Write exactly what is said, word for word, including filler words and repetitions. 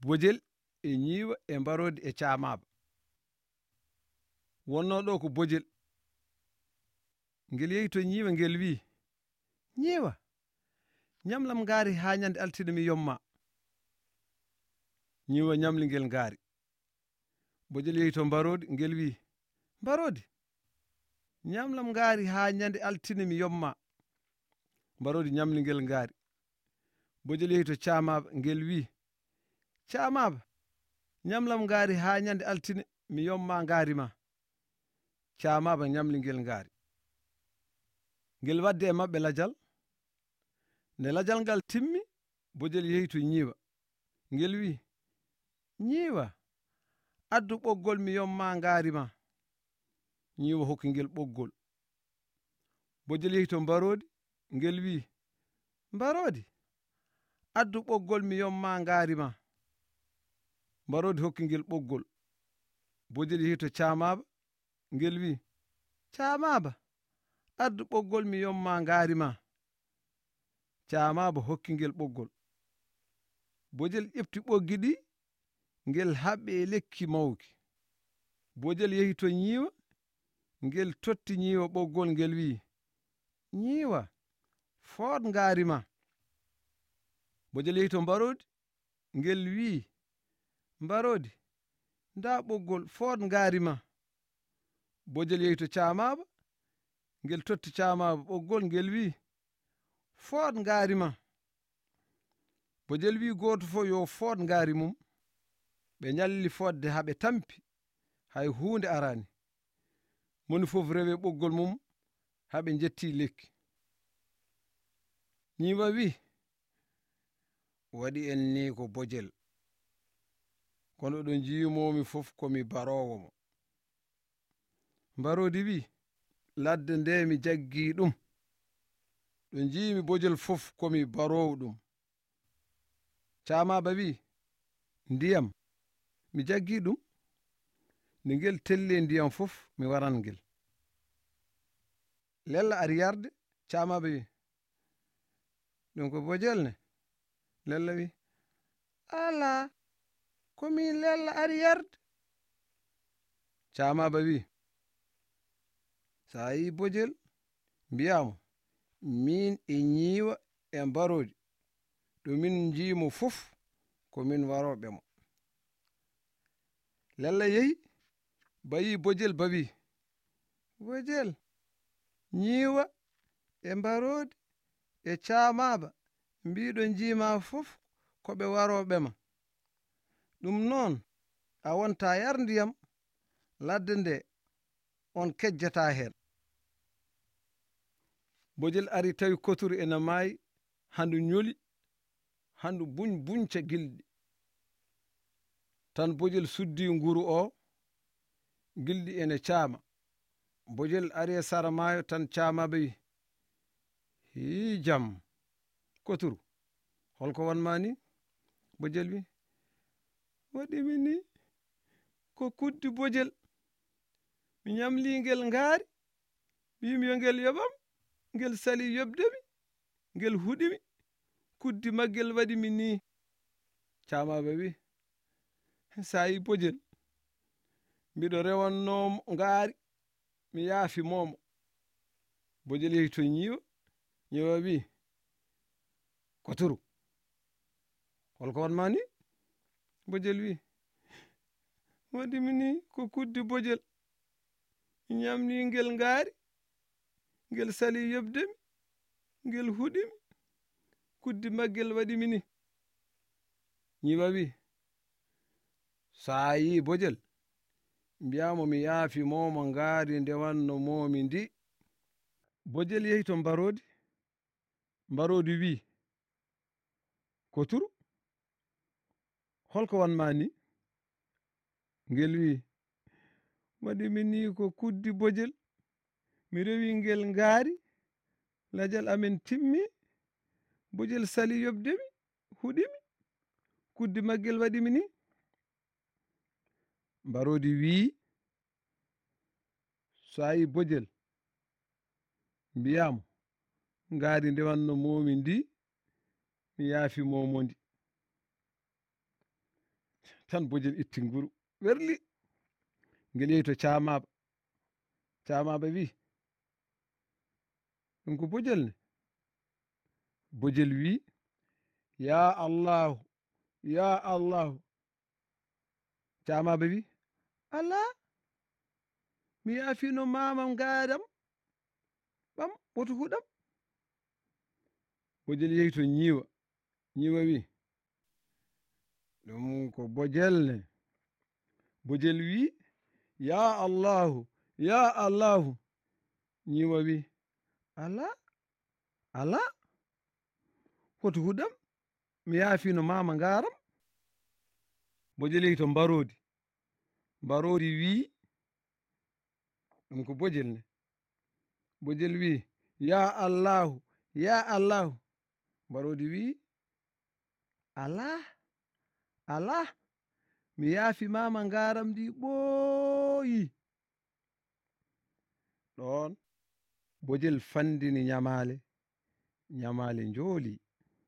bojel e ñiiwa e mbarodi e caamaaba. Wonno ɗo ko bojel ngel yehi to ñiiwa ngel wi, ñiiwa ñamlam ngaari haa ñande altine mi yomma. ñiiwa ñamli ngel ngaari. Bojel yehi to mbarodi ngel wi, mbarodi ñamlam ngaari haa ñande altine mi yomma. Mbarodi ñamli ngel ngaari. Bojel yehi to caamaaba ngel wi, caamaaba ñamlam ngaari haa ñande altine mi yomma ngaari ma. Caamaaba ñamli ngel ngaari. Ngel wadde e maɓɓe lajal. Nde lajal ngal timmi, bojel yehi to ñiiwa ngel wi, ñiiwa addu ɓoggol mi yomma ngaari ma. ñiiwa hokki ngel ɓoggol. Bojel yehi to mbarodi ngel wi, mbarodi addu ɓoggol mi yomma ngaari ma. Mbarodi hokki ngel ɓoggol. Bojel yehi to caamaaba ngel wi, caamaaba addu ɓoggol mi yomma ngaari ma. Caamaaba hokki ngel ɓoggol. Bojel ƴefti ɓoggi ɗi ngel haɓɓi e lekki mawki. Bojel yehi to ñiiwa ngel totti ñiiwa ɓoggol ngel wi, ñiiwa food ngaari ma. Bojel yehi to mbarodi ngel wi, mbarodi nda ɓoggol food ngaari ma. Bojel yehi to caamaaba ngel totti caamaaba ɓoggol ngel wi, food ngaari ma. Bojel wi gooto fof yo food ngaari mum. Ɓe ñalli fodde haɓe tampi hay huunde arani. Moni fof rewe ɓoggol mum haɓe jetti lekki. ñiiwa wi, waɗi en ni ko bojel, kono ɗo jiimomi fof komi barowo mo. Mbarodi wi, ladde nde mi jaggi ɗum, ɗo jiimi bojel fof komi barowo ɗum. Caamaaba wi, ndiyam mi jaggi ɗum, nde ngel telle ndiyam fof mi waran ngel. Lella ari yarde. Caamaaba wi, ɗum ko bojel ne? Lella wi, ala komi lella ari yarde. Caamaaba wi, sa yi bojel mbiyamo min e ñiiwa e mbarodi ɗo min jiimo fof ko min waroɓe mo. Lella yehi bayi bojel bawi, bojel ñiiwa e mbarodi e caamaaba mbiɗo jiima fof ko ɓe waroɓe ma. ɗum noon a wonta yar ndiyam ladde nde on kejjata hen. Bojel ari tawi koturu ena maayi, handu ñoli, handu buñ buñca gilɗi. Tan bojel suddi nguru o, gilɗi ene caama. Bojel ari e sara maayo tan caamaaba wi, hi jam koturu holko wanma ni? Bojel wi, waɗimi ni ko kuddi bojel, mi ñamli ngel ngaari, mbimi yo ngel yoɓam, ngel sali yobdemi, ngel huɗimi, kuddi maggel waɗi mi ni. Caamaaba wi, sa yi bojel mbiɗo rewannomo ngaari, mi yaafi momo. Bojel yehi to ñiiwa. ñiiwa wi, koturu holko wanma ni? Bojel wi, waɗimi ni ko kuddi bojel, mi ñamli ngel ngaari, ngel sali yobdemi, ngel huɗimi, kuddi maggel waɗimi ni. ñiiwa wi, sa yi bojel mbiyamo mi yaafi momo ngaari ndewanno momi ndi. Bojel yehi to mbarodi. Mbarodi wi, koturu holko wanma ni? Ngel wi, waɗimi ni ko kuddi bojel, mi rewi ngel ngaari, lajal amen timmi, bojel sali yobdemi, huɗimi, kuddi maggel waɗimi ni. Mbarodi wi, so yi bojel mbiyamo ngaari ndewanno momi ndi, mi yaafi momo ndi. tan bojel itti nguru werli ngel yehi to camaba camaba wi ɗum ko bojel ne bojel wi ya allahu ya allahu camaba wi ala mi yaafino mamam gaadam ɓam woto huɗam bojel yehi to ñiiwa ñiiwa wi ɗum ko bojel ne bojel wi ya allahu ya allahu ñiiwa wi ala ala woto huɗam mi yaafino mama ngaram bojel yehi to mbarodi mbarodi wi ɗum ko bojel ne bojel wi ya allahu ya allahu mbarodi wi ala ala mi yaafi mama ngaram ndi ɓooyi ɗon bojel fandini nyamale nyamale njooli